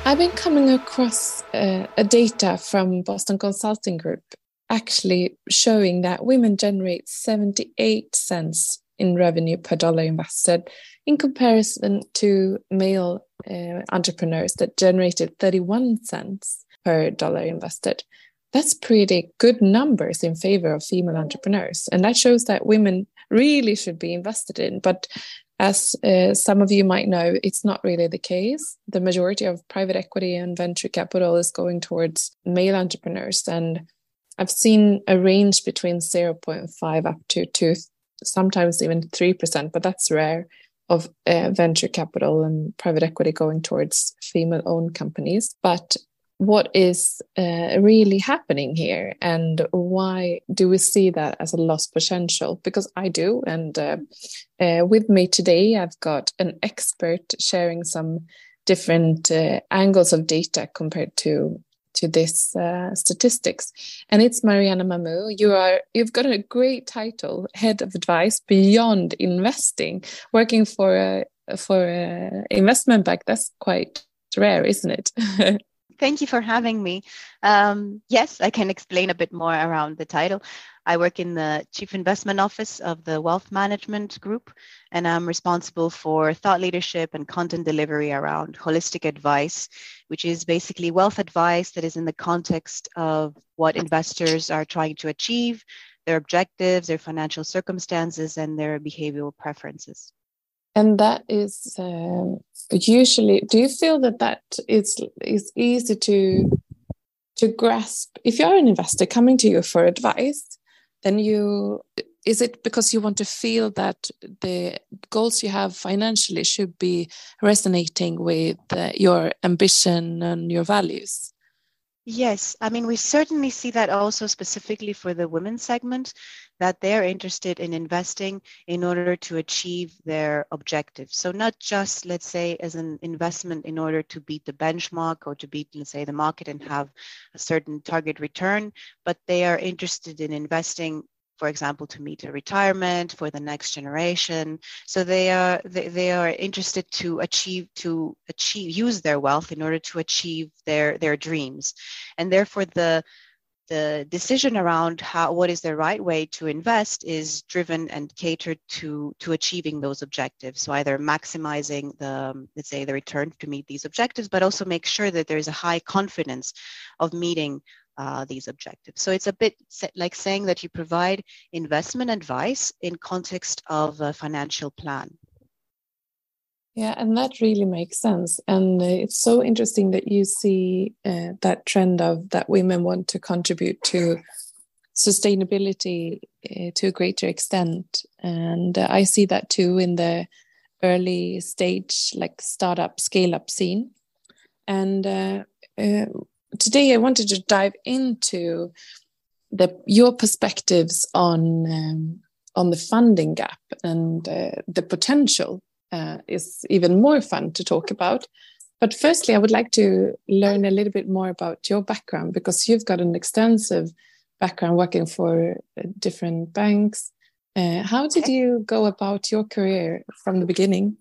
I've been coming across a data from Boston Consulting Group actually showing that women generate 78 cents in revenue per dollar invested in comparison to male entrepreneurs that generated 31 cents per dollar invested. That's pretty good numbers in favor of female entrepreneurs. And that shows that women really should be invested in. But as some of you might know, it's not really the case. The majority of private equity and venture capital is going towards male entrepreneurs. And I've seen a range between 0.5 up to 2, sometimes even 3%, but that's rare, of venture capital and private equity going towards female-owned companies. But what is really happening here, and why do we see that as a lost potential? Because I do, and with me today I've got an expert sharing some different angles of data compared to this statistics, and it's Mariana Mamou. You've got a great title, Head of Advice Beyond Investing, working for a investment bank. That's quite rare, isn't it? Thank you for having me. Yes, I can explain a bit more around the title. I work in the Chief Investment Office of the Wealth Management Group, and I'm responsible for thought leadership and content delivery around holistic advice, which is basically wealth advice that is in the context of what investors are trying to achieve, their objectives, their financial circumstances, and their behavioral preferences. And that is usually, do you feel that is easy to grasp? If you're an investor coming to you for advice, then is it because you want to feel that the goals you have financially should be resonating with your ambition and your values? Yes, I mean, we certainly see that also specifically for the women's segment, that they're interested in investing in order to achieve their objectives. So not just, let's say, as an investment in order to beat the benchmark or to beat, let's say, the market and have a certain target return, but they are interested in investing, for example, to meet a retirement for the next generation. So they are interested to use their wealth in order to achieve their dreams. And therefore the decision around what is the right way to invest is driven and catered to achieving those objectives. So either maximizing let's say the return to meet these objectives, but also make sure that there is a high confidence of meeting these objectives. So it's a bit like saying that you provide investment advice in context of a financial plan. Yeah, and that really makes sense. And it's so interesting that you see that trend of that women want to contribute to sustainability to a greater extent. And I see that too in the early stage, like startup, scale-up scene. And today I wanted to dive into your perspectives on the funding gap, and the potential is even more fun to talk about. But firstly, I would like to learn a little bit more about your background, because you've got an extensive background working for different banks. How did you go about your career from the beginning?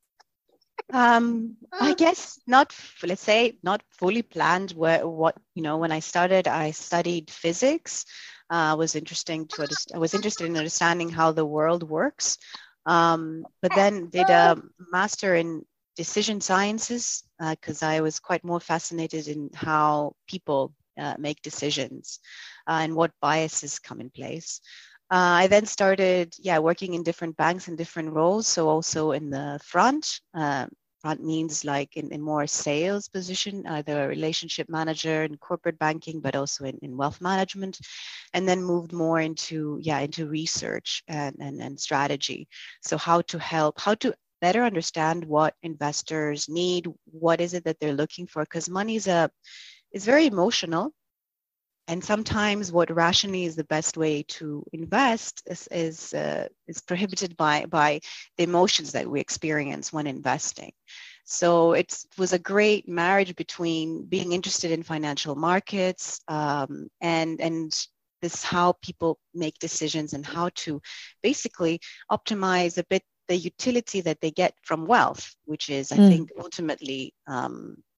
I guess let's say not fully planned. When I started, I studied physics. I was interested in understanding how the world works. But then did a master in decision sciences because I was quite more fascinated in how people make decisions and what biases come in place. I then started, working in different banks in different roles. So also in the front. Front means like in more sales position, either a relationship manager in corporate banking, but also in wealth management, and then moved more into research and strategy. So how to better understand what investors need, what is it that they're looking for, because money is very emotional. And sometimes what rationally is the best way to invest is prohibited by the emotions that we experience when investing. So it was a great marriage between being interested in financial markets and this how people make decisions and how to basically optimize a bit the utility that they get from wealth, which is, I think, ultimately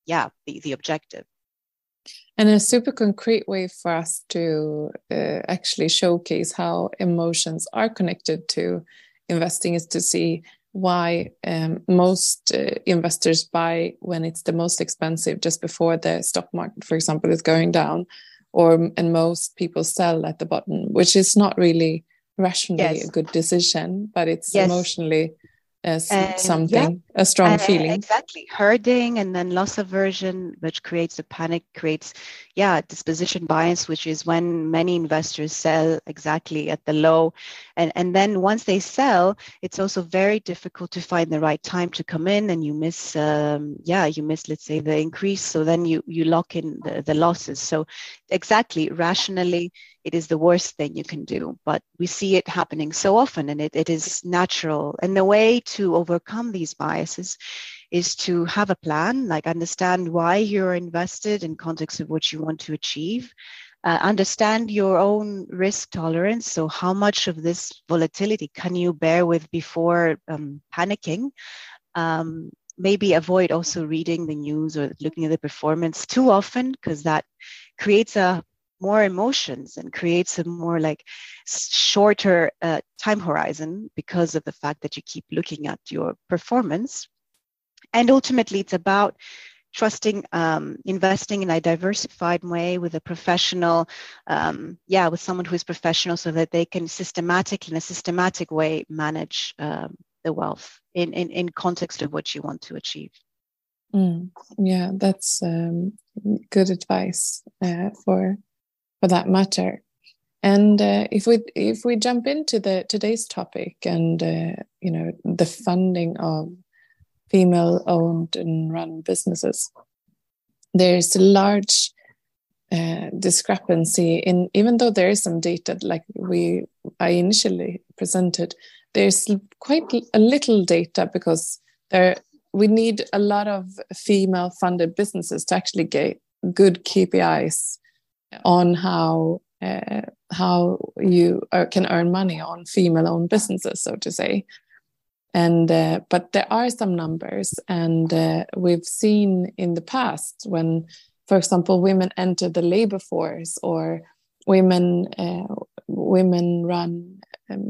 the objective. And a super concrete way for us to actually showcase how emotions are connected to investing is to see why most investors buy when it's the most expensive, just before the stock market, for example, is going down, and most people sell at the bottom, which is not really rationally a good decision, but it's emotionally something, a strong feeling. Exactly. Herding and then loss aversion, which creates a panic, creates, disposition bias, which is when many investors sell exactly at the low. And then once they sell, it's also very difficult to find the right time to come in, and you miss, let's say, the increase. So then you lock in the losses. So exactly, rationally, it is the worst thing you can do, but we see it happening so often, and it is natural. And the way to overcome these biases is to have a plan, like understand why you're invested in context of what you want to achieve, understand your own risk tolerance. So how much of this volatility can you bear with before panicking? Maybe avoid also reading the news or looking at the performance too often, because that creates more emotions and creates a more like shorter time horizon because of the fact that you keep looking at your performance. And ultimately, it's about trusting, investing in a diversified way with a professional, with someone who is professional, so that they can in a systematic way manage the wealth in context of what you want to achieve. Yeah, that's good advice for that matter. And if we jump into today's topic and the funding of female-owned and run businesses, there's a large discrepancy in, even though there is some data like I initially presented, there's quite a little data, because we need a lot of female-funded businesses to actually get good KPIs on how you can earn money on female-owned businesses, so to say. And but there are some numbers, and we've seen in the past when, for example, women enter the labor force, or women run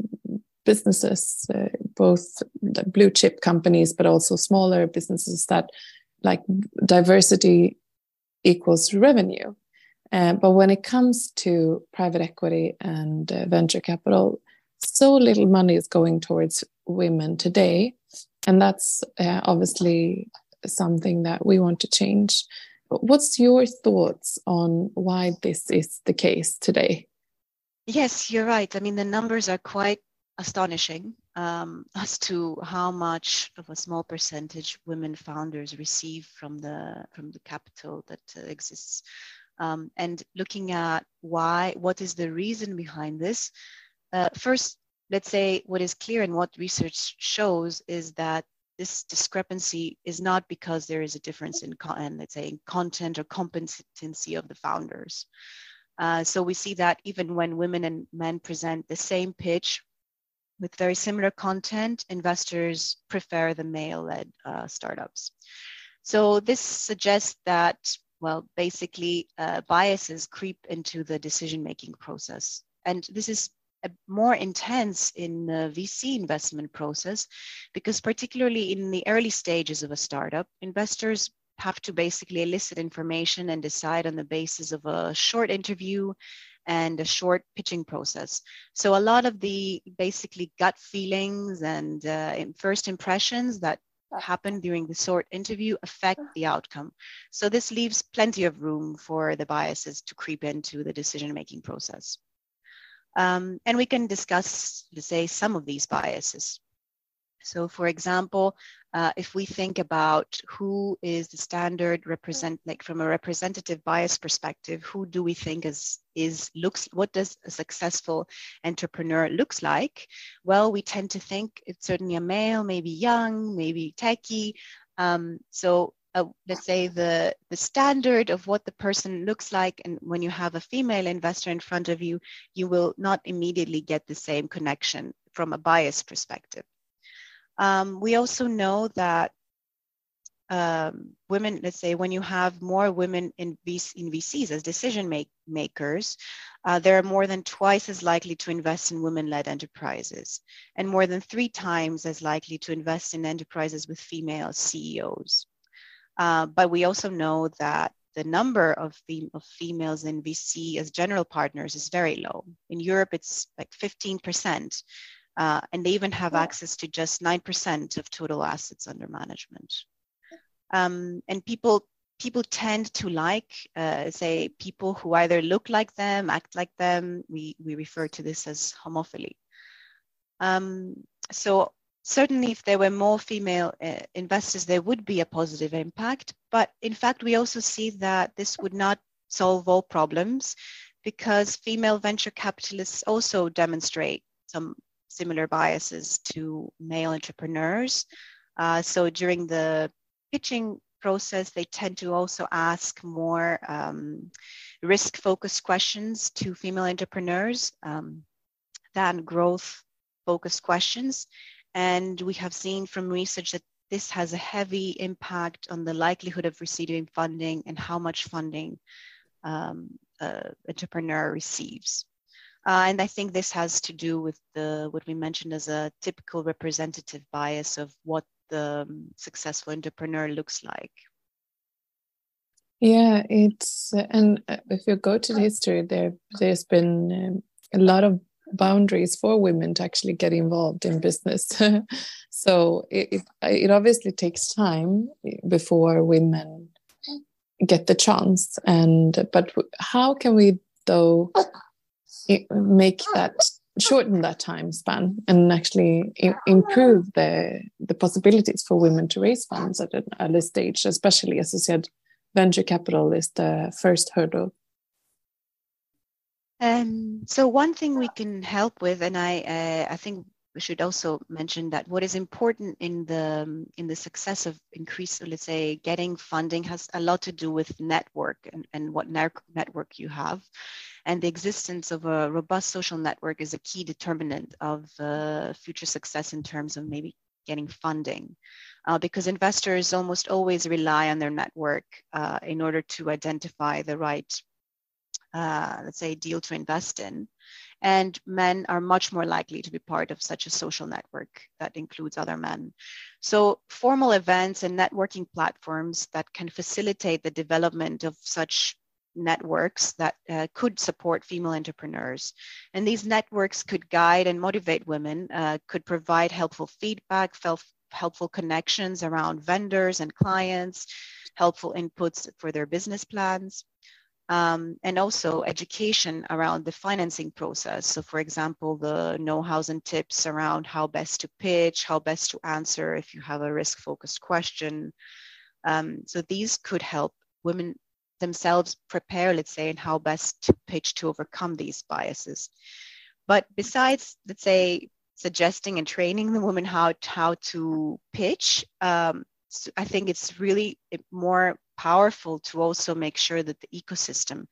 businesses, both the blue chip companies, but also smaller businesses, that like diversity equals revenue. But when it comes to private equity and venture capital, so little money is going towards women today. And that's obviously something that we want to change. But what's your thoughts on why this is the case today? Yes, you're right. I mean, the numbers are quite astonishing as to how much of a small percentage women founders receive from the capital that exists. And looking at what is the reason behind this? First, let's say what is clear and what research shows is that this discrepancy is not because there is a difference in content or competency of the founders. So we see that even when women and men present the same pitch with very similar content, investors prefer the male-led startups. So this suggests that, well, basically biases creep into the decision-making process. And this is more intense in the VC investment process, because particularly in the early stages of a startup, investors have to basically elicit information and decide on the basis of a short interview and a short pitching process. So a lot of the basically gut feelings and first impressions that happen during the short interview affect the outcome. So this leaves plenty of room for the biases to creep into the decision-making process. And we can discuss, let's say, some of these biases. So for example, if we think about who is the standard from a representative bias perspective, who do we think what does a successful entrepreneur looks like? Well, we tend to think it's certainly a male, maybe young, maybe techie. Let's say the standard of what the person looks like, and when you have a female investor in front of you, you will not immediately get the same connection from a bias perspective. We also know that women, let's say, when you have more women in VCs as decision makers, they're more than twice as likely to invest in women-led enterprises and more than 3 times as likely to invest in enterprises with female CEOs. But we also know that the number of females in VC as general partners is very low. In Europe, it's like 15%, and they even have access to just 9% of total assets under management. And people tend to like, say, people who either look like them, act like them. We refer to this as homophily. So certainly if there were more female investors, there would be a positive impact. But in fact, we also see that this would not solve all problems because female venture capitalists also demonstrate some similar biases to male entrepreneurs. So during the pitching process, they tend to also ask more risk-focused questions to female entrepreneurs than growth-focused questions. And we have seen from research that this has a heavy impact on the likelihood of receiving funding and how much funding entrepreneur receives. And I think this has to do with what we mentioned as a typical representative bias of what the successful entrepreneur looks like. Yeah, it's and if you go to the history, there's been a lot of boundaries for women to actually get involved in business. So it obviously takes time before women get the chance. But how can we though make that, shorten that time span and actually improve the possibilities for women to raise funds at an early stage, especially, as you said, venture capital is the first hurdle? So one thing we can help with, and I think we should also mention that what is important in the success of increase, let's say, getting funding has a lot to do with network and what network you have. And the existence of a robust social network is a key determinant of future success in terms of maybe getting funding, because investors almost always rely on their network in order to identify the right, let's say, deal to invest in. And men are much more likely to be part of such a social network that includes other men. So formal events and networking platforms that can facilitate the development of such networks that could support female entrepreneurs. And these networks could guide and motivate women, could provide helpful feedback, helpful connections around vendors and clients, helpful inputs for their business plans, and also education around the financing process. So for example, the know-hows and tips around how best to pitch, how best to answer if you have a risk-focused question. So these could help women themselves prepare, let's say, and how best to pitch to overcome these biases. But besides, let's say, suggesting and training the women how to pitch, so I think it's really more powerful to also make sure that the ecosystem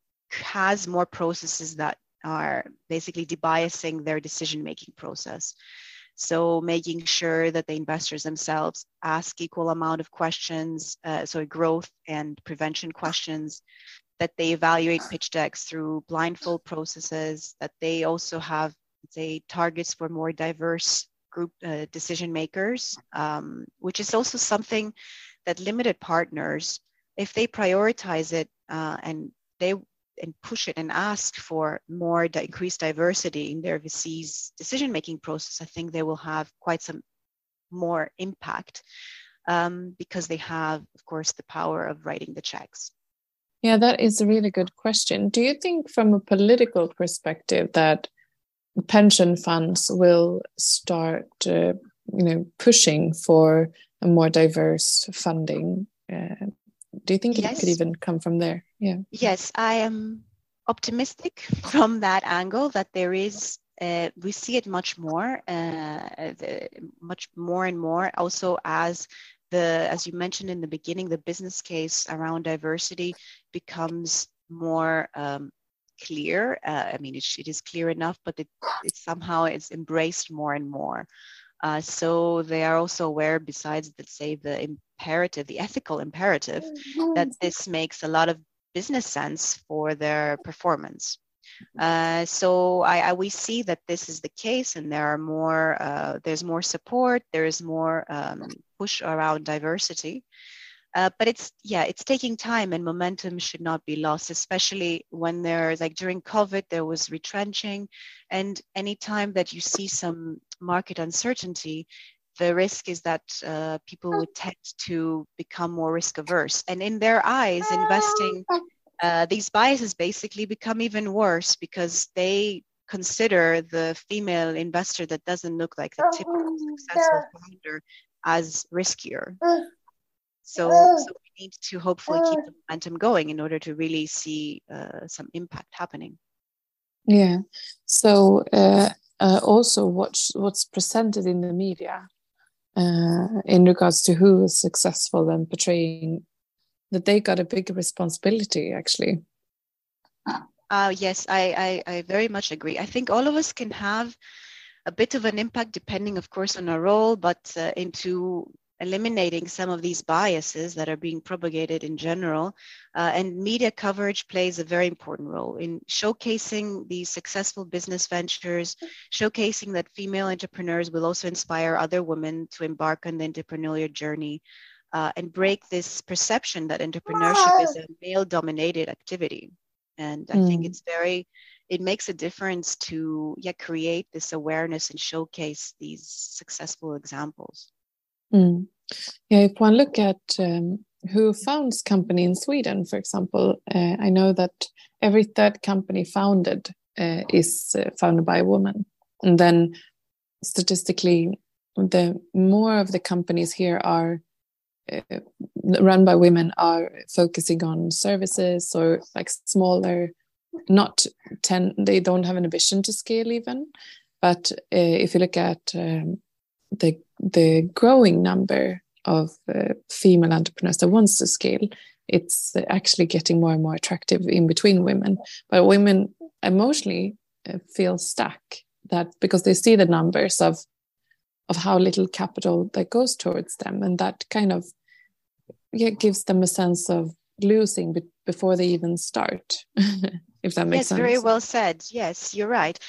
has more processes that are basically debiasing their decision-making process. So making sure that the investors themselves ask equal amount of questions, growth and prevention questions, that they evaluate pitch decks through blindfold processes, that they also have, say, targets for more diverse group decision makers, which is also something that limited partners, if they prioritize it and push it and ask for more increased diversity in their VC's decision-making process, I think they will have quite some more impact because they have, of course, the power of writing the checks. Yeah, that is a really good question. Do you think from a political perspective that pension funds will start pushing for a more diverse funding? Do you think Yes. It could even come from there? Yeah. Yes, I am optimistic from that angle that there is, we see it much more and more also as you mentioned in the beginning, the business case around diversity becomes more clear. I mean, it is clear enough, but it somehow is embraced more and more. So they are also aware, besides, let's say, the imperative, the ethical imperative, that this makes a lot of business sense for their performance. So we see that this is the case, and there's more support, there is more push around diversity. But it's taking time, and momentum should not be lost, especially when there's, like during COVID, there was retrenching, and anytime that you see some market uncertainty, the risk is that people would tend to become more risk averse, and in their eyes, investing, these biases basically become even worse because they consider the female investor that doesn't look like the typical successful founder as riskier. So we need to hopefully keep the momentum going in order to really see some impact happening. Yeah. So also what's presented in the media in regards to who is successful and portraying that they got a big responsibility, actually. Yes, I very much agree. I think all of us can have a bit of an impact depending, of course, on our role, but into eliminating some of these biases that are being propagated in general. And media coverage plays a very important role in showcasing these successful business ventures, showcasing that female entrepreneurs will also inspire other women to embark on the entrepreneurial journey, and break this perception that entrepreneurship is a male-dominated activity. And I think it makes a difference to create this awareness and showcase these successful examples. Yeah, if one look at who founds company in Sweden, for example, I know that every third company founded is founded by a woman. And then statistically, the more of the companies here are run by women are focusing on services or like smaller, they don't have an ambition to scale even. But if you look at the growing number of female entrepreneurs that wants to scale, it's actually getting more and more attractive in between women. But women emotionally feel stuck, that because they see the numbers of how little capital that goes towards them, and that kind of gives them a sense of losing before they even start. If that makes sense. Yes, very well said. Yes, you're right.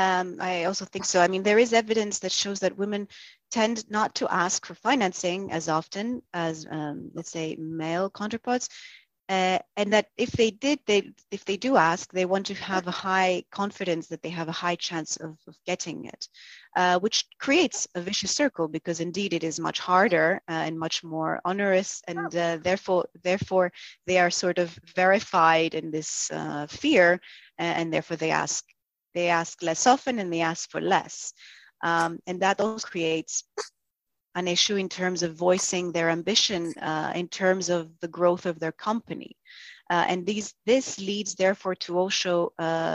I also think so. I mean, there is evidence that shows that women tend not to ask for financing as often as, let's say, male counterparts. And that if they do ask, they want to have a high confidence that they have a high chance of getting it, which creates a vicious circle, because indeed it is much harder and much more onerous, and therefore they are sort of verified in this fear, and therefore they ask less often, and they ask for less, and that also creates an issue in terms of voicing their ambition in terms of the growth of their company. And this leads therefore to also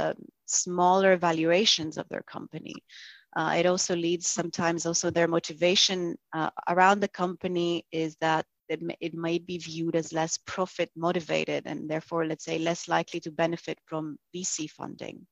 smaller valuations of their company. It also leads sometimes also their motivation around the company is that it might be viewed as less profit motivated, and therefore, let's say, less likely to benefit from VC funding.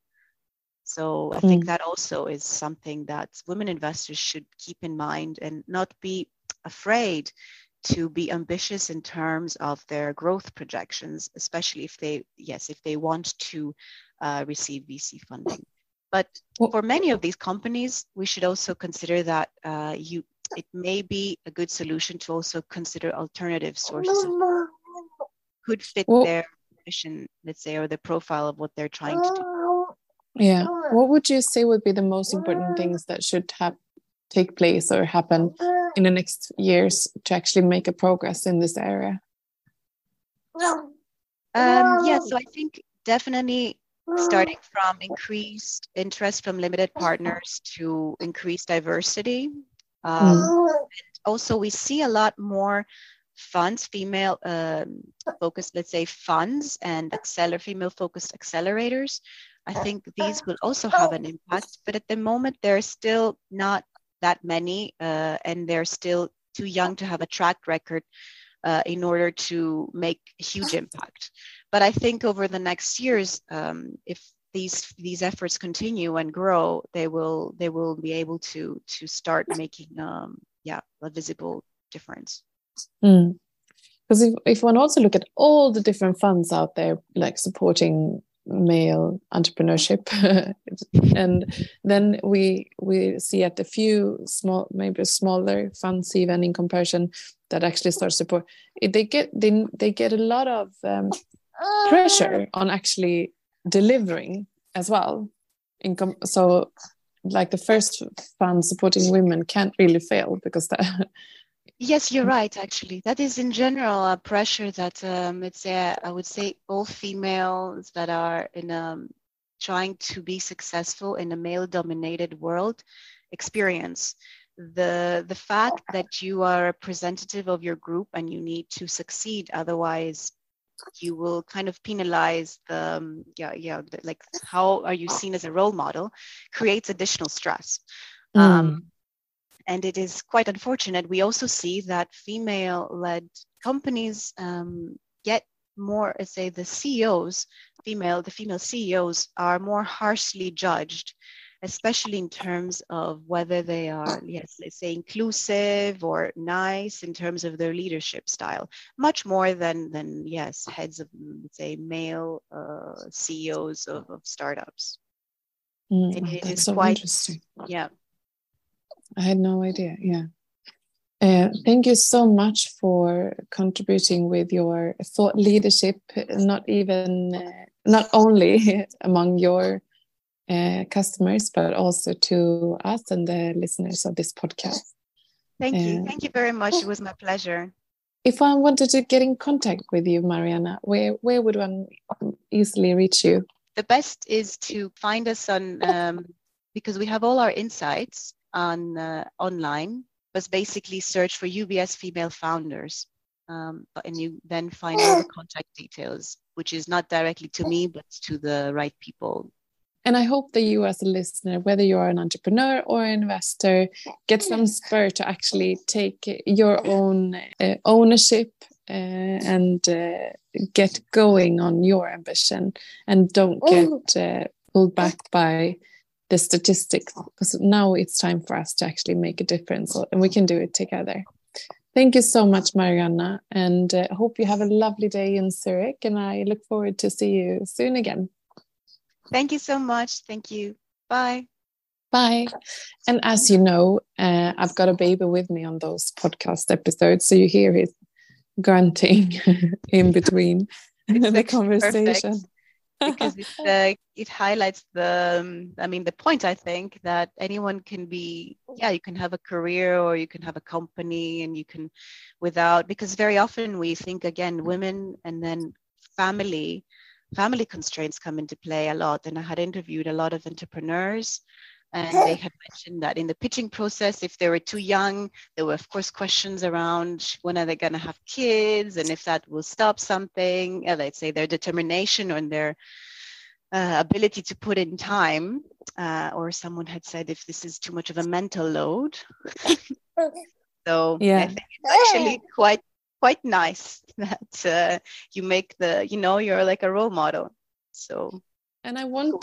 So I think that also is something that women investors should keep in mind, and not be afraid to be ambitious in terms of their growth projections, especially if they want to receive VC funding. But for many of these companies, we should also consider that it may be a good solution to also consider alternative sources of could fit their mission, let's say, or the profile of what they're trying to do. Yeah. What would you say would be the most important things that should take place or happen in the next years to actually make a progress in this area? So I think definitely starting from increased interest from limited partners to increased diversity. And also we see a lot more funds, female focused, let's say, funds and female focused accelerators. I think these will also have an impact, but at the moment there's still not that many, and they're still too young to have a track record in order to make a huge impact. But I think over the next years, if these efforts continue and grow, they will be able to start making a visible difference. Because if one also look at all the different funds out there, like supporting male entrepreneurship, and then we see at a few small, maybe smaller funds even in comparison that actually start support, they get a lot of pressure on actually delivering as well. So like the first fund supporting women can't really fail because that. Yes, you're right, actually. That is in general a pressure that I would say all females that are in trying to be successful in a male-dominated world experience. The fact that you are a representative of your group and you need to succeed, otherwise you will kind of penalize like how are you seen as a role model, creates additional stress. And it is quite unfortunate. We also see that female-led companies get more, let's say, the female CEOs are more harshly judged, especially in terms of whether they are, let's say, inclusive or nice in terms of their leadership style, much more than heads of, let's say, male CEOs of startups. And it that's is so quite interesting. Yeah. I had no idea. Yeah. Thank you so much for contributing with your thought leadership, not only among your customers, but also to us and the listeners of this podcast. Thank you. Thank you very much. It was my pleasure. If I wanted to get in contact with you, Mariana, where would one easily reach you? The best is to find us on, because we have all our insights on online, but basically search for UBS female founders, and you then find all the contact details, which is not directly to me, but to the right people. And I hope that you as a listener, whether you are an entrepreneur or an investor, get some spur to actually take your own ownership and get going on your ambition, and don't get pulled back by the statistics, because now it's time for us to actually make a difference, and we can do it together. Thank you so much, Mariana, and I hope you have a lovely day in Zurich, and I look forward to see you soon again. Thank you so much. Thank you. Bye. Bye. And as you know, I've got a baby with me on those podcast episodes, so you hear his grunting in between the conversation. Perfect. Because it highlights the point, I think, that anyone can be, you can have a career or you can have a company, and you can because very often we think, again, women and then family constraints come into play a lot. And I had interviewed a lot of entrepreneurs, and they had mentioned that in the pitching process, if they were too young, there were, of course, questions around when are they going to have kids, and if that will stop something, let's say their determination or their ability to put in time, or someone had said if this is too much of a mental load. So I think it's actually quite nice that you make you're like a role model. So. And I want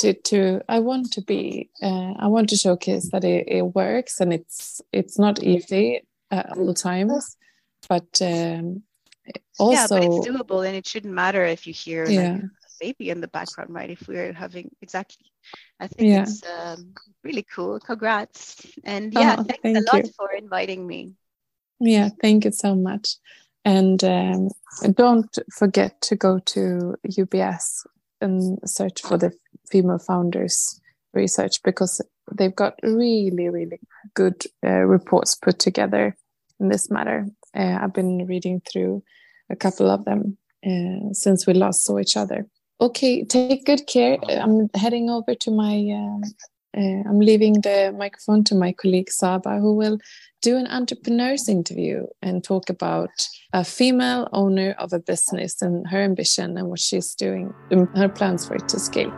to showcase that it works, and it's not easy at all times, but also but it's doable, and it shouldn't matter if you hear like a baby in the background, right? If we're having I think it's really cool. Congrats, and thanks a lot for inviting me. Yeah, thank you so much, and don't forget to go to UBS and search for the female founders research, because they've got really, really good reports put together in this matter. I've been reading through a couple of them since we last saw each other. Okay, take good care. I'm heading over to I'm leaving the microphone to my colleague Saba, who will do an entrepreneur's interview and talk about a female owner of a business and her ambition and what she's doing, her plans for it to scale.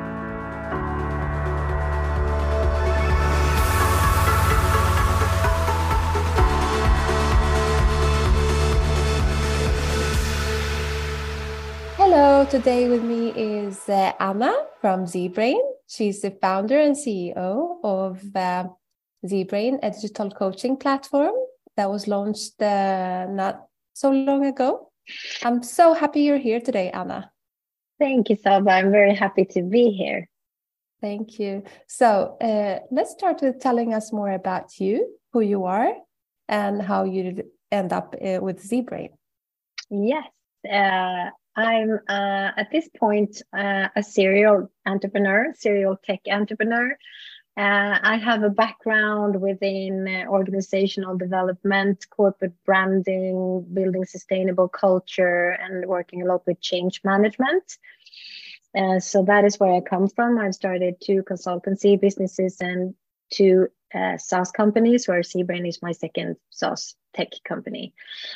Hello, today with me is Anna from ZBrain. She's the founder and CEO of ZBrain, a digital coaching platform that was launched not so long ago. I'm so happy you're here today, Anna. Thank you, Saba. I'm very happy to be here. Thank you. So let's start with telling us more about you, who you are, and how you end up with ZBrain. Yes, I'm at this point a serial tech entrepreneur. I have a background within organizational development, corporate branding, building sustainable culture, and working a lot with change management. So that is where I come from. I've started 2 consultancy businesses and 2 SaaS companies, where ZBrain is my second SaaS tech company.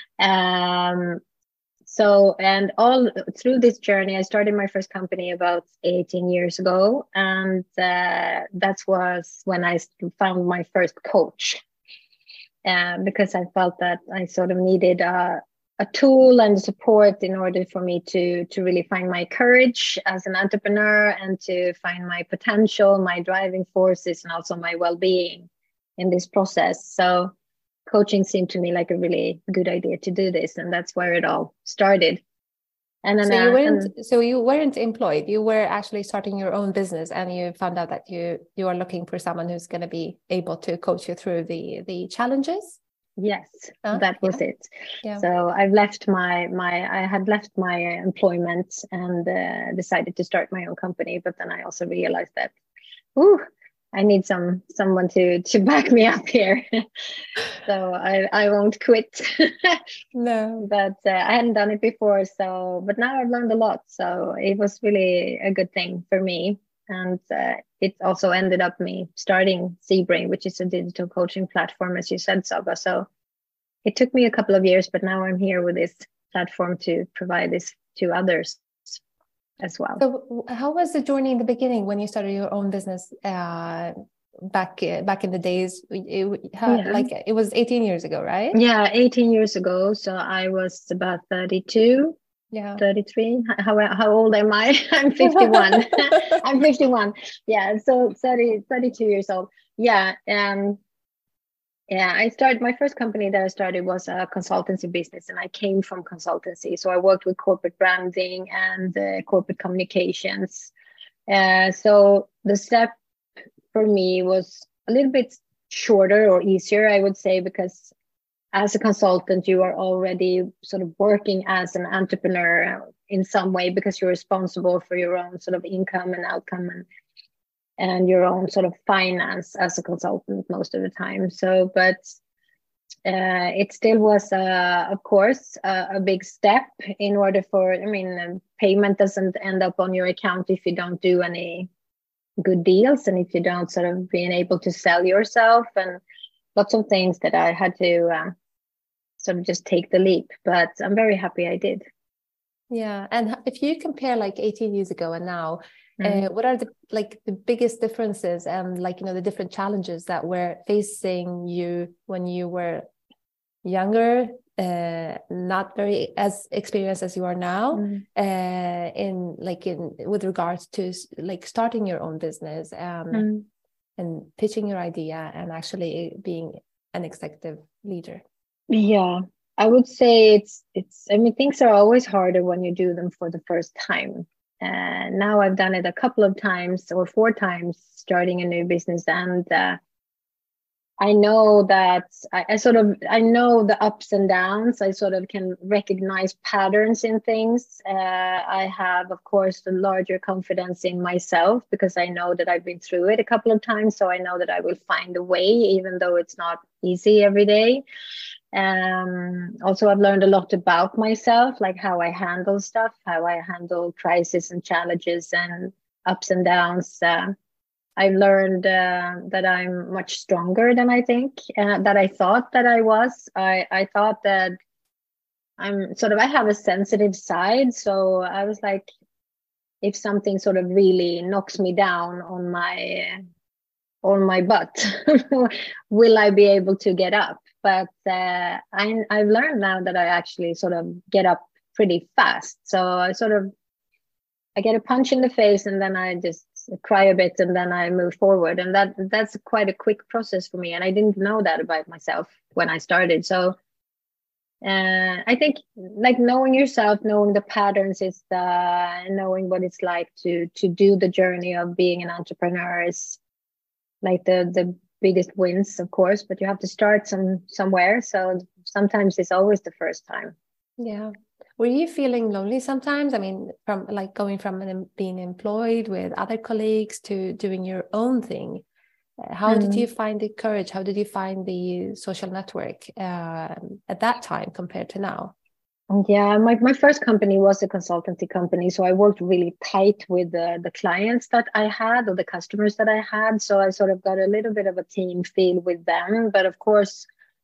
So, and all through this journey, I started my first company about 18 years ago. And that was when I found my first coach, because I felt that I sort of needed a tool and support in order for me to really find my courage as an entrepreneur and to find my potential, my driving forces, and also my well-being in this process. So coaching seemed to me like a really good idea to do this, and that's where it all started. And then so you weren't employed, you were actually starting your own business, and you found out that you are looking for someone who's going to be able to coach you through the challenges. Yes, that was it. Yeah. So I had left my employment and decided to start my own company, but then I also realized that I need someone to back me up here. So I won't quit. No, but I hadn't done it before. But now I've learned a lot. So it was really a good thing for me. And it also ended up me starting ZBrain, which is a digital coaching platform, as you said, Saba. So it took me a couple of years, but now I'm here with this platform to provide this to others as well. So how was the journey in the beginning when you started your own business back in the days? It was 18 years ago, right? Yeah, 18 years ago. So I was about 32. Yeah, 33. How old am I? I'm 51. I'm 51. Yeah, so 32 years old. Yeah. I started, my first company that I started was a consultancy business, and I came from consultancy. So I worked with corporate branding and corporate communications. So the step for me was a little bit shorter or easier, I would say, because as a consultant, you are already sort of working as an entrepreneur in some way, because you're responsible for your own sort of income and outcome and your own sort of finance as a consultant most of the time. So, but it still was, of course, a big step in order for, payment doesn't end up on your account if you don't do any good deals and if you don't sort of being able to sell yourself, and lots of things that I had to sort of just take the leap. But I'm very happy I did. Yeah. And if you compare like 18 years ago and now, what are the biggest differences and the different challenges that were facing you when you were younger, not very as experienced as you are now, with regards to starting your own business and pitching your idea and actually being an executive leader? Yeah, I would say it's things are always harder when you do them for the first time. Now I've done it a couple of times or 4 times starting a new business, and I know that I know the ups and downs. I sort of can recognize patterns in things. I have, of course, the larger confidence in myself because I know that I've been through it a couple of times. So I know that I will find a way, even though it's not easy every day. Also, I've learned a lot about myself, like how I handle stuff, how I handle crises and challenges and ups and downs. I've learned that I'm much stronger than I think, that I thought that I was. I thought that I have a sensitive side. So I was like, if something sort of really knocks me down on my butt, will I be able to get up? But I've learned now that I actually sort of get up pretty fast. So I get a punch in the face and then I just cry a bit and then I move forward. And that's quite a quick process for me. And I didn't know that about myself when I started. So I think like knowing yourself, knowing the patterns is knowing what it's like to do the journey of being an entrepreneur is like the biggest wins, of course, but you have to start somewhere. So sometimes it's always the first time. Yeah. Were you feeling lonely sometimes? I mean, from like going from being employed with other colleagues to doing your own thing. How did you find the courage? How did you find the social network at that time compared to now? Yeah, my first company was a consultancy company. So I worked really tight with the clients that I had or the customers that I had. So I sort of got a little bit of a team feel with them. But of course,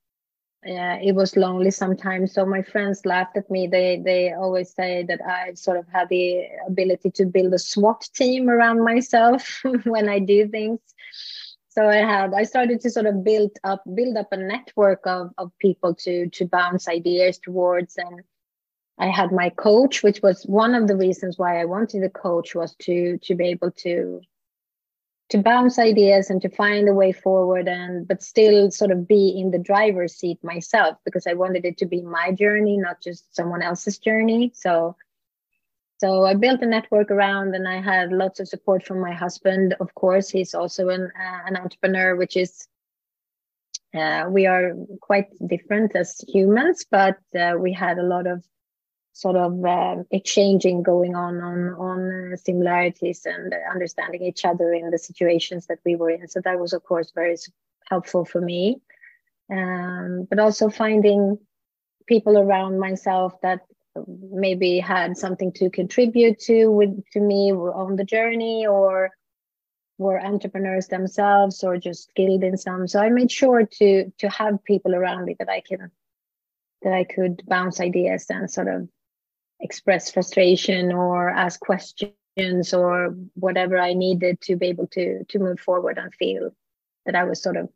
it was lonely sometimes. So my friends laughed at me. They always say that I sort of had the ability to build a SWAT team around myself when I do things. So I started to sort of build up a network of people to bounce ideas towards. And I had my coach, which was one of the reasons why I wanted a coach, was to be able to bounce ideas and to find a way forward, but still sort of be in the driver's seat myself, because I wanted it to be my journey, not just someone else's journey. So I built a network around, and I had lots of support from my husband. Of course, he's also an entrepreneur, which is, we are quite different as humans, but we had a lot of sort of exchanging going on similarities and understanding each other in the situations that we were in. So that was, of course, very helpful for me. But also finding people around myself that maybe had something to contribute to me on the journey, or were entrepreneurs themselves, or just skilled in some. So I made sure to have people around me that I could bounce ideas and sort of express frustration or ask questions or whatever I needed to be able to move forward and feel that I was sort of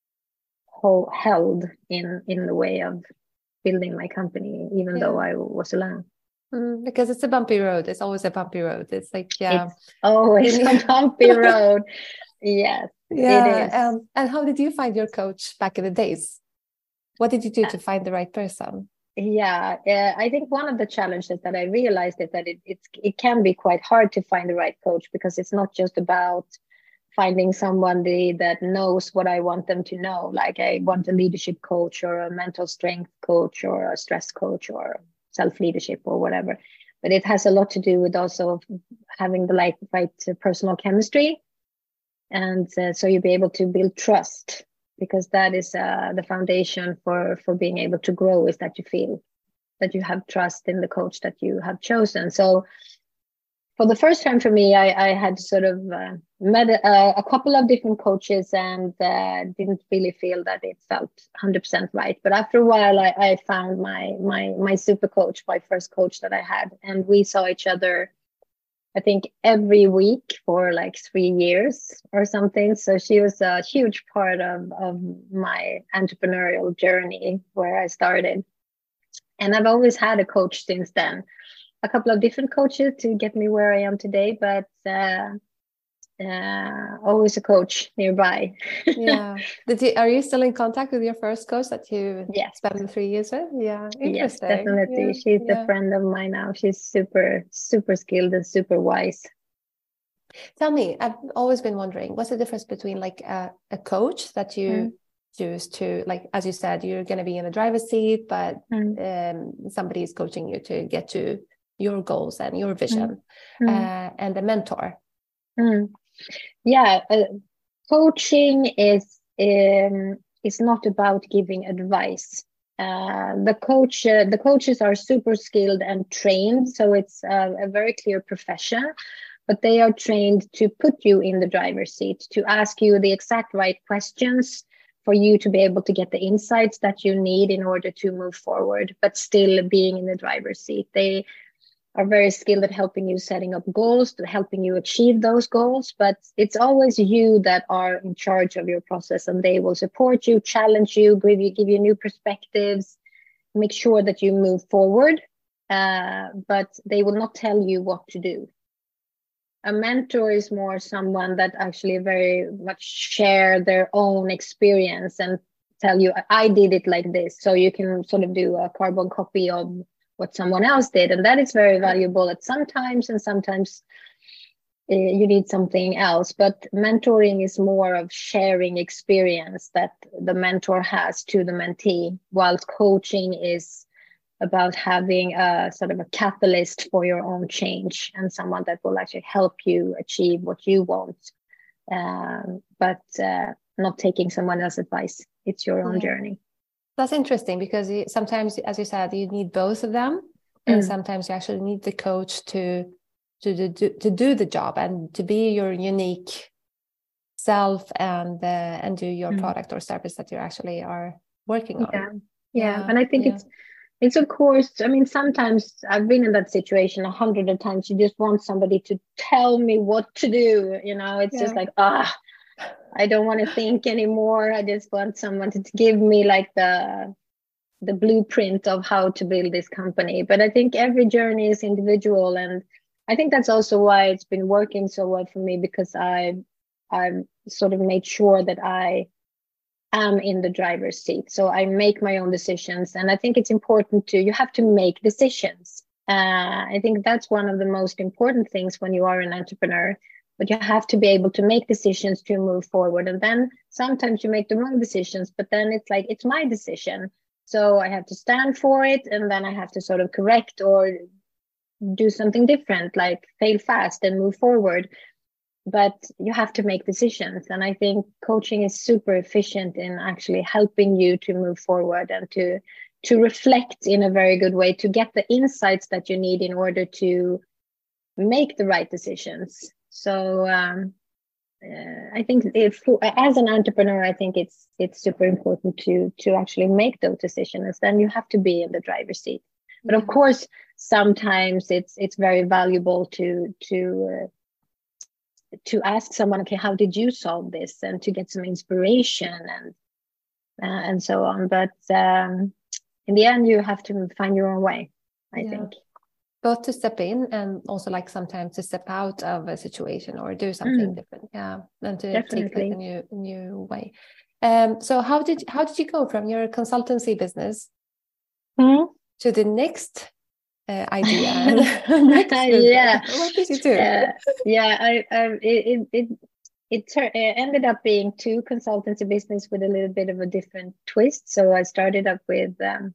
held in the way of building my company, even though I was alone. Because it's a bumpy road. It's always a bumpy road. It's like, yeah. It's always a bumpy road. Yes, yeah. It is. And how did you find your coach back in the days? What did you do to find the right person? Yeah, I think one of the challenges that I realized is that it can be quite hard to find the right coach, because it's not just about finding someone that knows what I want them to know. Like I want a leadership coach or a mental strength coach or a stress coach or self-leadership or whatever. But it has a lot to do with also having the right personal chemistry. And so you'll be able to build trust, because that is the foundation for being able to grow, is that you feel that you have trust in the coach that you have chosen. So for the first time for me, I had sort of met a couple of different coaches and didn't really feel that it felt 100% right. But after a while, I found my super coach, my first coach that I had. And we saw each other, I think, every week for like 3 years or something. So she was a huge part of my entrepreneurial journey where I started. And I've always had a coach since then. A couple of different coaches to get me where I am today, but always a coach nearby. Yeah. Are you still in contact with your first coach that you spent 3 years with? Yeah. Interesting. Yes, definitely. Yeah. She's a friend of mine now. She's super, super skilled and super wise. Tell me, I've always been wondering, what's the difference between like a coach that you choose to, like, as you said, you're going to be in the driver's seat, but somebody is coaching you to get to your goals and your vision, and a mentor? Yeah, coaching is not about giving advice. The coaches are super skilled and trained, so it's a very clear profession, but they are trained to put you in the driver's seat, to ask you the exact right questions for you to be able to get the insights that you need in order to move forward, but still being in the driver's seat. They are very skilled at helping you setting up goals, helping you achieve those goals, but it's always you that are in charge of your process, and they will support you, challenge you, give you new perspectives, make sure that you move forward, but they will not tell you what to do. A mentor is more someone that actually very much share their own experience and tell you I did it like this, so you can sort of do a carbon copy of what someone else did, and that is very valuable at sometimes, and sometimes you need something else. But mentoring is more of sharing experience that the mentor has to the mentee, whilst coaching is about having a sort of a catalyst for your own change and someone that will actually help you achieve what you want, but not taking someone else's advice. It's your own journey. That's interesting, because sometimes, as you said, you need both of them, and sometimes you actually need the coach to do the job and to be your unique self and do your product or service that you actually are working on. Yeah. And I think it's of course, I mean, sometimes I've been in that situation 100 of times. You just want somebody to tell me what to do. It's just like, I don't want to think anymore. I just want someone to give me like the blueprint of how to build this company. But I think every journey is individual, and I think that's also why it's been working so well for me, because I've sort of made sure that I am in the driver's seat. So I make my own decisions, and I think it's important you have to make decisions. I think that's one of the most important things when you are an entrepreneur. But you have to be able to make decisions to move forward. And then sometimes you make the wrong decisions, but then it's like, it's my decision. So I have to stand for it. And then I have to sort of correct or do something different, like fail fast and move forward. But you have to make decisions. And I think coaching is super efficient in actually helping you to move forward and to reflect in a very good way, to get the insights that you need in order to make the right decisions. So I think as an entrepreneur, I think it's super important to actually make those decisions. Then you have to be in the driver's seat. But of course, sometimes it's very valuable to ask someone, okay, how did you solve this, and to get some inspiration and so on. But in the end, you have to find your own way, I think. Both to step in and also like sometimes to step out of a situation or do something different, and to take like a new way. So how did you go from your consultancy business to the next idea? What did you do? It ended up being two consultancy business with a little bit of a different twist. So I started up with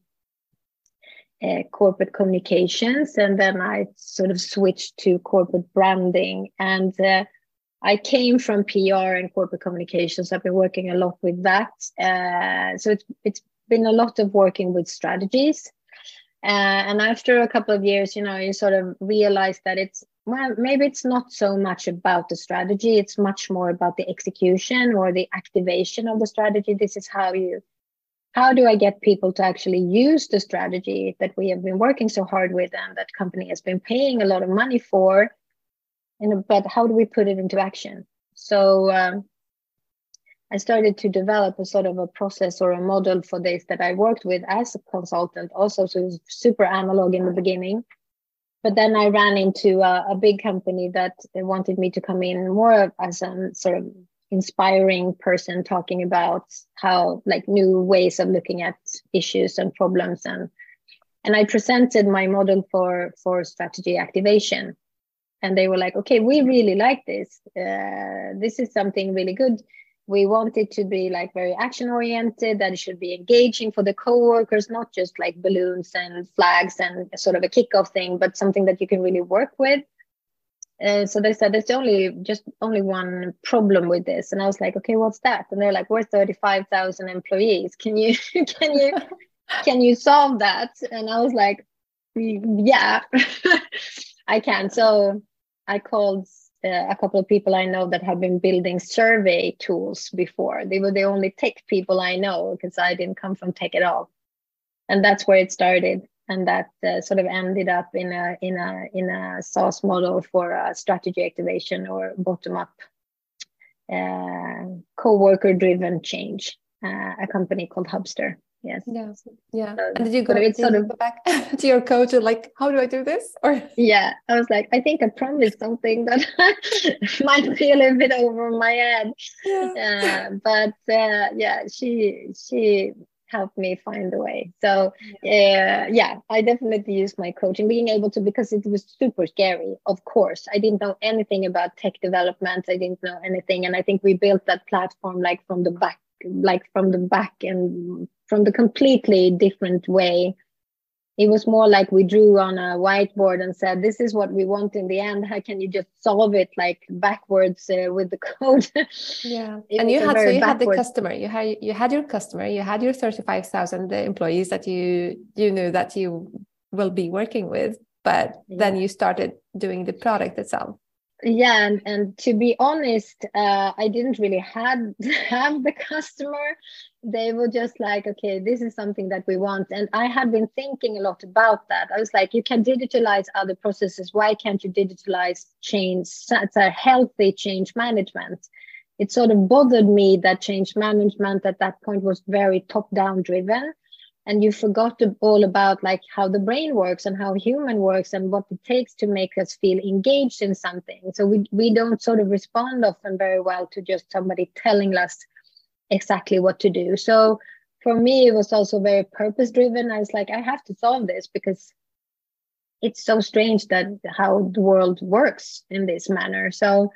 corporate communications, and then I sort of switched to corporate branding. And I came from PR and corporate communications. I've been working a lot with that. So it's been a lot of working with strategies. And after a couple of years, you sort of realize that maybe it's not so much about the strategy. It's much more about the execution or the activation of the strategy. This is how do I get people to actually use the strategy that we have been working so hard with and that company has been paying a lot of money for, but how do we put it into action? So I started to develop a sort of a process or a model for this that I worked with as a consultant also. So it was super analog in the beginning. But then I ran into a big company that wanted me to come in more as a sort of inspiring person, talking about how like new ways of looking at issues and problems, and I presented my model for strategy activation, and they were like, okay, we really like this. This is something really good. We want it to be like very action oriented, that it should be engaging for the co-workers, not just like balloons and flags and sort of a kickoff thing, but something that you can really work with. So they said, there's only one problem with this. And I was like, okay, what's that? And they're like, we're 35,000 employees. Can you solve that? And I was like, yeah, I can. So I called a couple of people I know that have been building survey tools before. They were the only tech people I know, because I didn't come from tech at all. And that's where it started. And that sort of ended up in a SaaS model for strategy activation or bottom-up co-worker driven change, a company called Hubster. Yes. Yeah. So, And did you it's go back to your coach and like, how do I do this? Or yeah, I was like, I think I promised something that might be a little bit over my head. But yeah, she helped me find the way. So yeah, I definitely used my coaching, being able to, because it was super scary. Of course, I didn't know anything about tech development. I didn't know anything, and I think we built that platform like from the back and from the completely different way. It was more like we drew on a whiteboard and said, this is what we want in the end. How can you just solve it like backwards with the code? Yeah. And you had the customer, you had your customer, you had your 35,000 employees that you knew that you will be working with, but then you started doing the product itself. Yeah, and to be honest, I didn't really have the customer. They were just like, okay, this is something that we want. And I had been thinking a lot about that. I was like, you can digitalize other processes. Why can't you digitalize change? It's a healthy change management. It sort of bothered me that change management at that point was very top-down driven. And you forgot all about like how the brain works and how human works and what it takes to make us feel engaged in something. So we don't sort of respond often very well to just somebody telling us exactly what to do. So for me, it was also very purpose driven. I was like, I have to solve this because it's so strange that how the world works in this manner.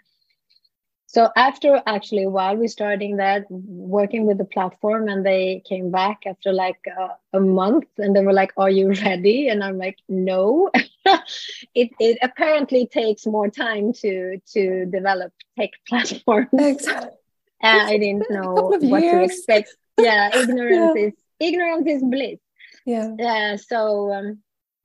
So after actually, while we starting that, working with the platform, and they came back after like a month and they were like, are you ready? And I'm like, no. It apparently takes more time to develop tech platforms. Exactly. I didn't know what to expect. Yeah, ignorance is bliss. Yeah. So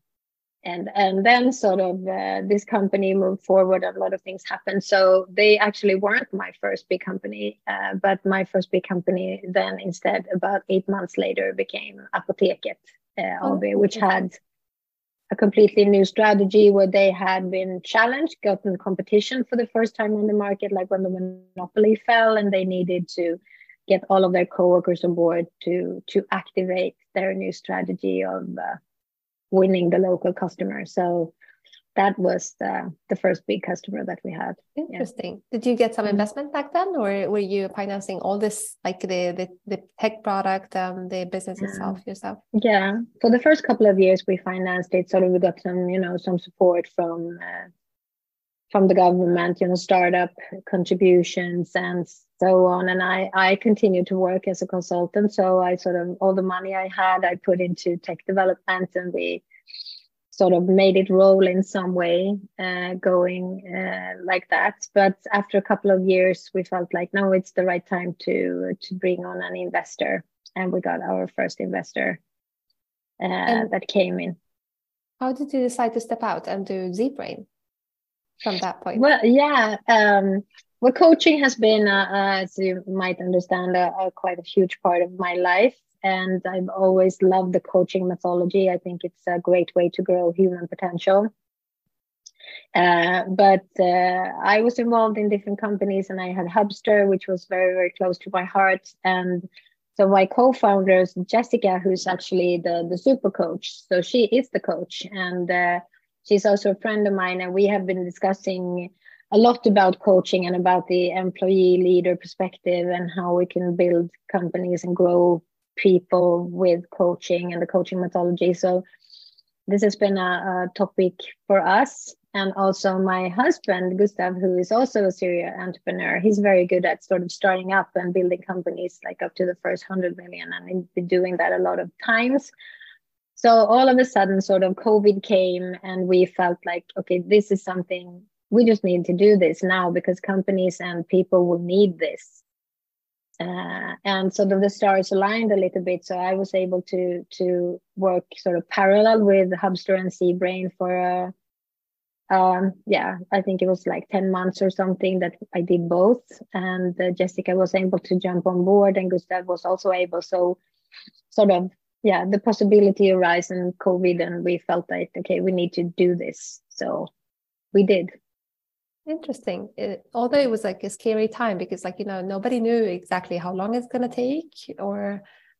and then sort of this company moved forward and a lot of things happened. So they actually weren't my first big company, but my first big company then instead about 8 months later became Apoteket AB, which had a completely new strategy where they had been challenged, gotten competition for the first time on the market, like when the monopoly fell, and they needed to get all of their coworkers on board to activate their new strategy of winning the local customer. So that was the first big customer that we had. Interesting. Did you get some investment back then, or were you financing all this, like the tech product and the business itself yourself? Yeah, for the first couple of years we financed it. Sort of we got some support from the government, startup contributions and so on. And I continued to work as a consultant. So I sort of, all the money I had, I put into tech development, and we sort of made it roll in some way, going like that. But after a couple of years, we felt like, no, it's the right time to bring on an investor. And we got our first investor that came in. How did you decide to step out and do ZBrain from that point? Well, yeah. Well, coaching has been, as you might understand, quite a huge part of my life. And I've always loved the coaching methodology. I think it's a great way to grow human potential. But I was involved in different companies, and I had Hubster, which was very, very close to my heart. And so my co-founders, Jessica, who's actually the super coach. So she is the coach, and she's also a friend of mine. And we have been discussing a lot about coaching and about the employee leader perspective and how we can build companies and grow people with coaching and the coaching methodology. So this has been a topic for us. And also my husband, Gustav, who is also a serial entrepreneur, he's very good at sort of starting up and building companies like up to the first 100 million. And he's been doing that a lot of times. So all of a sudden, sort of COVID came, and we felt like, okay, this is something, we just need to do this now because companies and people will need this. And sort of the stars aligned a little bit. So I was able to work sort of parallel with Hubster and ZBrain for, I think it was like 10 months or something that I did both. And Jessica was able to jump on board, and Gustav was also able. So sort of, the possibility arose in COVID, and we felt like, okay, we need to do this. So we did. Interesting. Although it was like a scary time because, like, nobody knew exactly how long it's going to take, or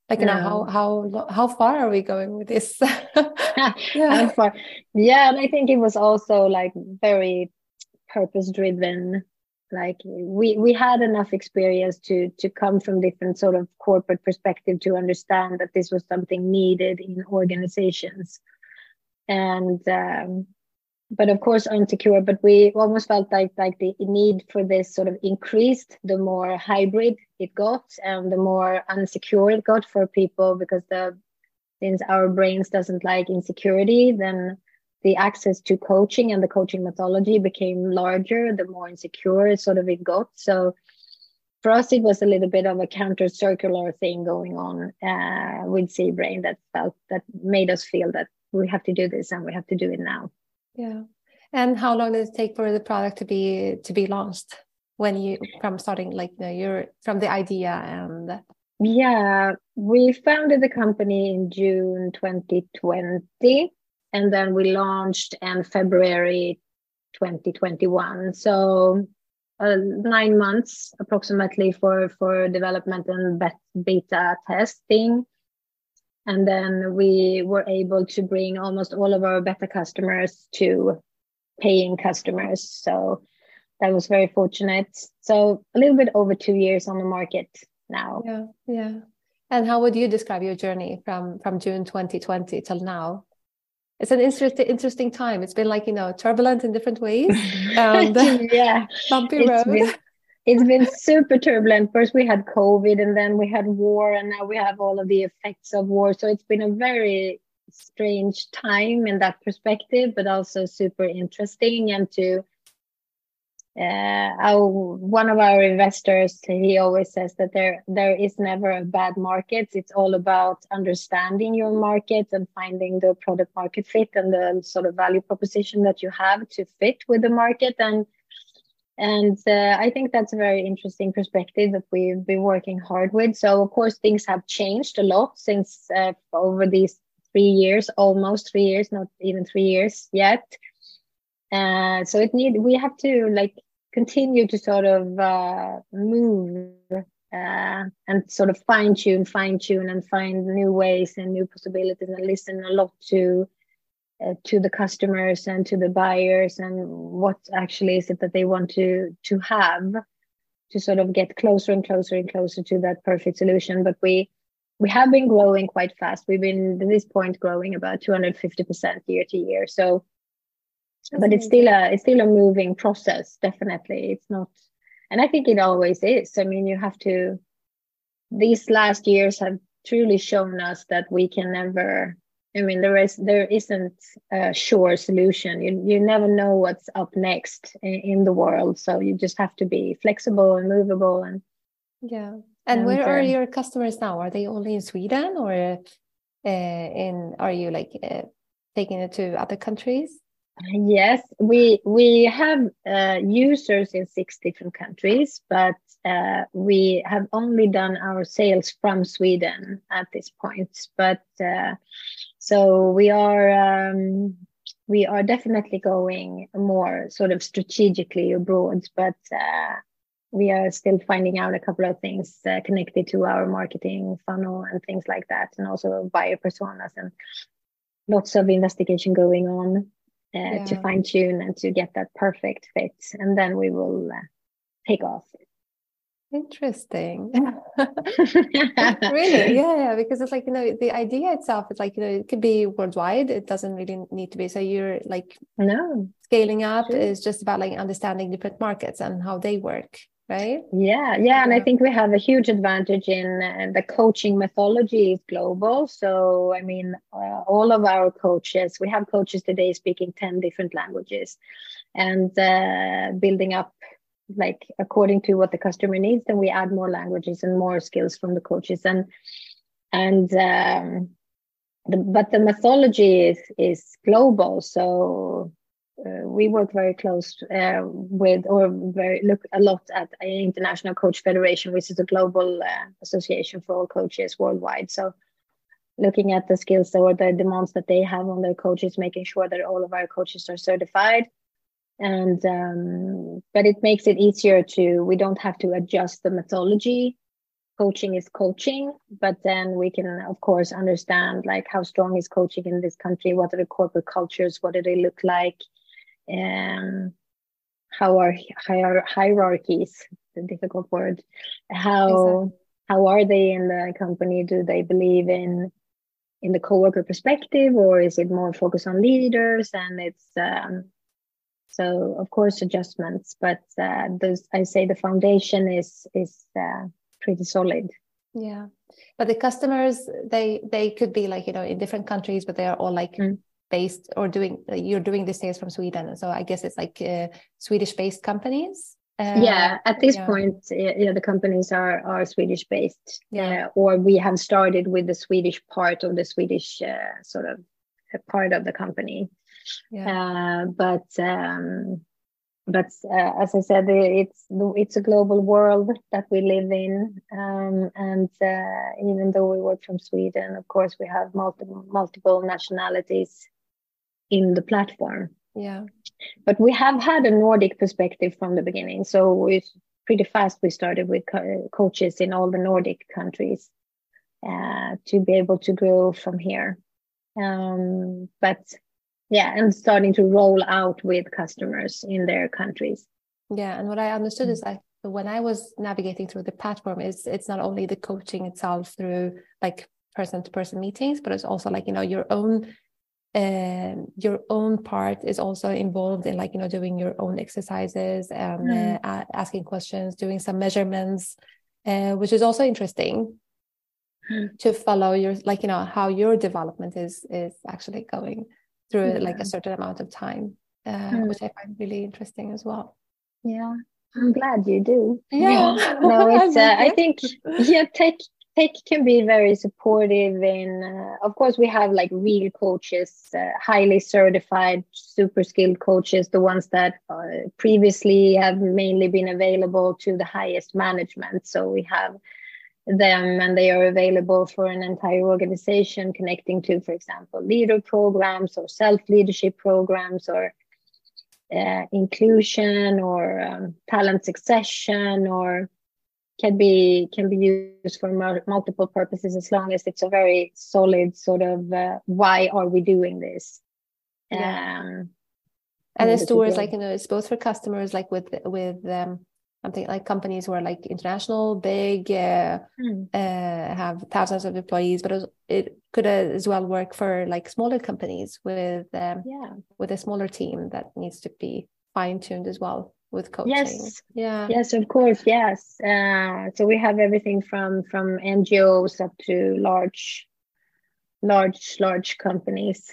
Like, you know, how far are we going with this? How far? Yeah, and I think it was also like very purpose driven. Like we had enough experience to come from different sort of corporate perspective to understand that this was something needed in organizations. And but of course unsecure, but we almost felt like the need for this sort of increased the more hybrid it got and the more unsecure it got for people, because since our brains doesn't like insecurity, then the access to coaching and the coaching methodology became larger the more insecure it got. So for us, it was a little bit of a counter-circular thing going on with ZBrain that made us feel that we have to do this and we have to do it now. Yeah. And how long does it take for the product to be launched when you from starting, like, you know, you're from the idea? And yeah, we founded the company in June 2020, and then we launched in February 2021. So 9 months approximately for development and beta testing. And then we were able to bring almost all of our beta customers to paying customers. So that was very fortunate. So a little bit over 2 years on the market now. Yeah. And how would you describe your journey from June 2020 till now? It's an interesting time. It's been, like, you know, turbulent in different ways. And yeah, bumpy road. It's been super turbulent. First we had COVID, and then we had war, and now we have all of the effects of war. So it's been a very strange time in that perspective, but also super interesting. And to one of our investors, he always says that there is never a bad market. It's all about understanding your market and finding the product market fit and the sort of value proposition that you have to fit with the market. And I think that's a very interesting perspective that we've been working hard with. So of course things have changed a lot since over these 3 years, almost 3 years, not even 3 years yet. So we have to like continue to sort of move and sort of fine tune and find new ways and new possibilities, and listen a lot to the customers and to the buyers, and what actually is it that they want to have to sort of get closer and closer and closer to that perfect solution. But we have been growing quite fast. We've been at this point growing about 250% year to year. So, but it's still a moving process. Definitely, it's not, and I think it always is. I mean, you have to. These last years have truly shown us that we can never. I mean, there isn't a sure solution. You never know what's up next in the world. So you just have to be flexible and movable. And yeah. And where are your customers now? Are they only in Sweden, or are you like taking it to other countries? Yes, we have users in 6 different countries, but we have only done our sales from Sweden at this point. But so we are definitely going more sort of strategically abroad, but we are still finding out a couple of things connected to our marketing funnel and things like that, and also buyer personas, and lots of investigation going on to fine tune and to get that perfect fit, and then we will take off. Interesting. Really? Yeah, because it's like, you know, the idea itself is like, you know, it could be worldwide. It doesn't really need to be. So you're like, no, scaling up is just about like understanding different markets and how they work, right? Yeah. And I think we have a huge advantage in the coaching methodology is global. So I mean, all of our coaches, we have coaches today speaking 10 different languages, and building up like according to what the customer needs. Then we add more languages and more skills from the coaches, but the methodology is global. So we work very close look a lot at International Coach Federation, which is a global association for all coaches worldwide. So looking at the skills or the demands that they have on their coaches, making sure that all of our coaches are certified. And but it makes it easier we don't have to adjust the methodology coaching is coaching, but then we can of course understand like how strong is coaching in this country, what are the corporate cultures, what do they look like, and how are hierarchies, the difficult word, how are they in the company, do they believe in the coworker perspective, or is it more focused on leaders? And it's so of course adjustments, but I say the foundation is pretty solid. Yeah, but the customers, they could be like, in different countries, but they are all like based or you're doing the sales from Sweden, so I guess it's like Swedish based companies. At this point, the companies are Swedish based, or we have started with the Swedish part of the Swedish sort of part of the company. But as I said, it's a global world that we live in, and even though we work from Sweden, of course we have multiple nationalities in the platform. But we have had a Nordic perspective from the beginning, so it's pretty fast. We started with coaches in all the Nordic countries to be able to grow from here. And starting to roll out with customers in their countries. And what I understood is that when I was navigating through the platform, it's not only the coaching itself through like person-to-person meetings, but it's also like, your own part is also involved in like, doing your own exercises and asking questions, doing some measurements, which is also interesting to follow your, like, how your development is actually going through like a certain amount of time, which I find really interesting as well. Yeah, I'm glad you do. Yeah. No, it's I think tech can be very supportive in of course we have like real coaches, highly certified, super skilled coaches, the ones that previously have mainly been available to the highest management. So we have them and they are available for an entire organization, connecting to, for example, leader programs or self-leadership programs or inclusion or talent succession, or can be used for multiple purposes, as long as it's a very solid sort of why are we doing this. And it's towards like, it's both for customers like with something like companies who are like international, big, have thousands of employees, but it could as well work for like smaller companies with a smaller team that needs to be fine-tuned as well with coaching. Yes, of course. Yes. So we have everything from NGOs up to large companies.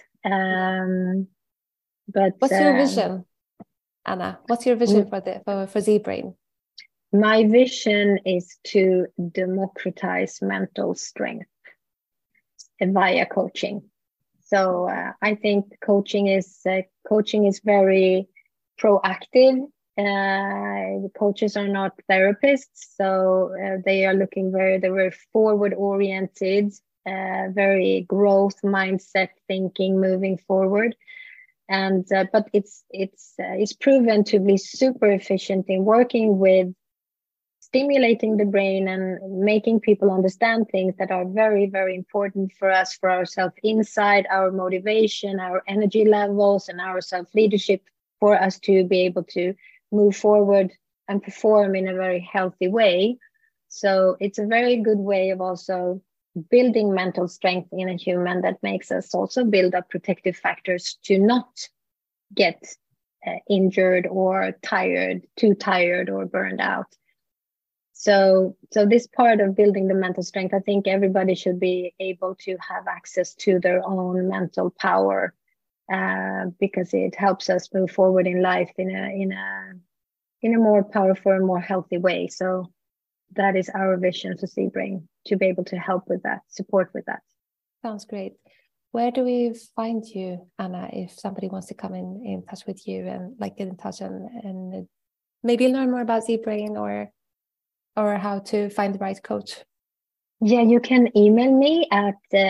But what's your vision, Anna? What's your vision for ZBrain? My vision is to democratize mental strength via coaching. So I think coaching is very proactive. Coaches are not therapists, so they are looking they're very forward oriented, very growth mindset thinking, moving forward. And but it's proven to be super efficient in working with stimulating the brain and making people understand things that are very, very important for us, for our self-insight, our motivation, our energy levels, and our self-leadership, for us to be able to move forward and perform in a very healthy way. So it's a very good way of also building mental strength in a human, that makes us also build up protective factors to not get injured or too tired or burned out. So this part of building the mental strength, I think everybody should be able to have access to their own mental power, because it helps us move forward in life in a more powerful and more healthy way. So that is our vision for ZBrain, to be able to help with that, support with that. Sounds great. Where do we find you, Anna, if somebody wants to come in touch with you and like get in touch and maybe learn more about ZBrain or how to find the right coach? Yeah, you can email me at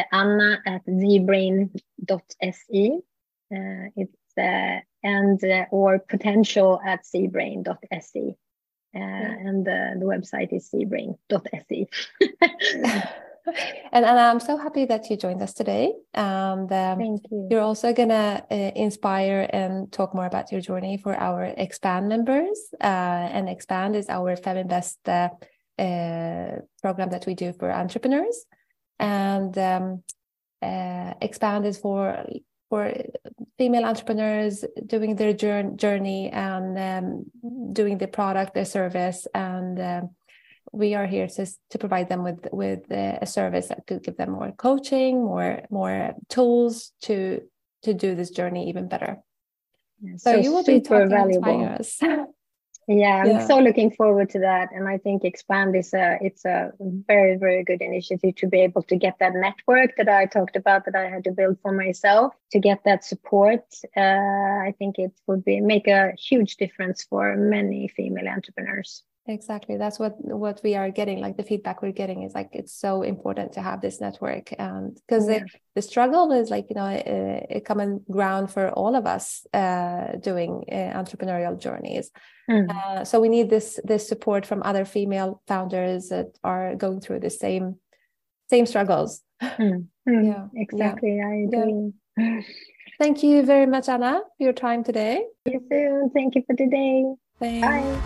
anna@zbrain.se. It's or potential@zbrain.se. and the website is cbrain.se. And I'm so happy that you joined us today. And Thank you. You're also going to inspire and talk more about your journey for our Expand members. And Expand is our Feminvest program that we do for entrepreneurs. And Expand is for female entrepreneurs doing their journey and doing the product, their service, and we are here to provide them with a service that could give them more coaching, more tools to do this journey even better. So you will be talking valuable. Us. Yeah, I'm so looking forward to that, and I think Expand is it's a very, very good initiative to be able to get that network that I talked about that I had to build for myself, to get that support. I think it would make a huge difference for many female entrepreneurs. Exactly. That's what we are getting. Like the feedback we're getting is like, it's so important to have this network. And because the struggle is like, a common ground for all of us doing entrepreneurial journeys. So we need this support from other female founders that are going through the same struggles. Yeah, exactly. Yeah. I agree. Yeah. Thank you very much, Anna, for your time today. You too. Thank you for today. Thanks. Bye.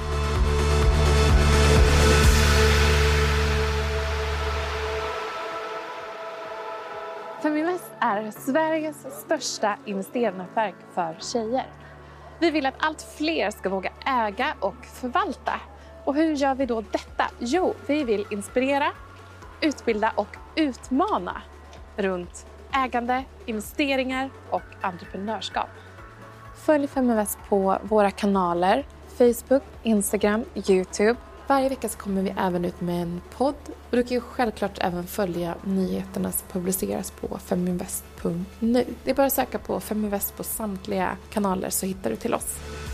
Feminvest är Sveriges största investeringsnätverk för tjejer. Vi vill att allt fler ska våga äga och förvalta. Och hur gör vi då detta? Jo, vi vill inspirera, utbilda och utmana runt ägande, investeringar och entreprenörskap. Följ Feminvest på våra kanaler Facebook, Instagram, YouTube. Varje vecka så kommer vi även ut med en podd. Och du kan ju självklart även följa nyheterna som publiceras på feminvest.nu. Det är bara att söka på Feminvest på samtliga kanaler så hittar du till oss.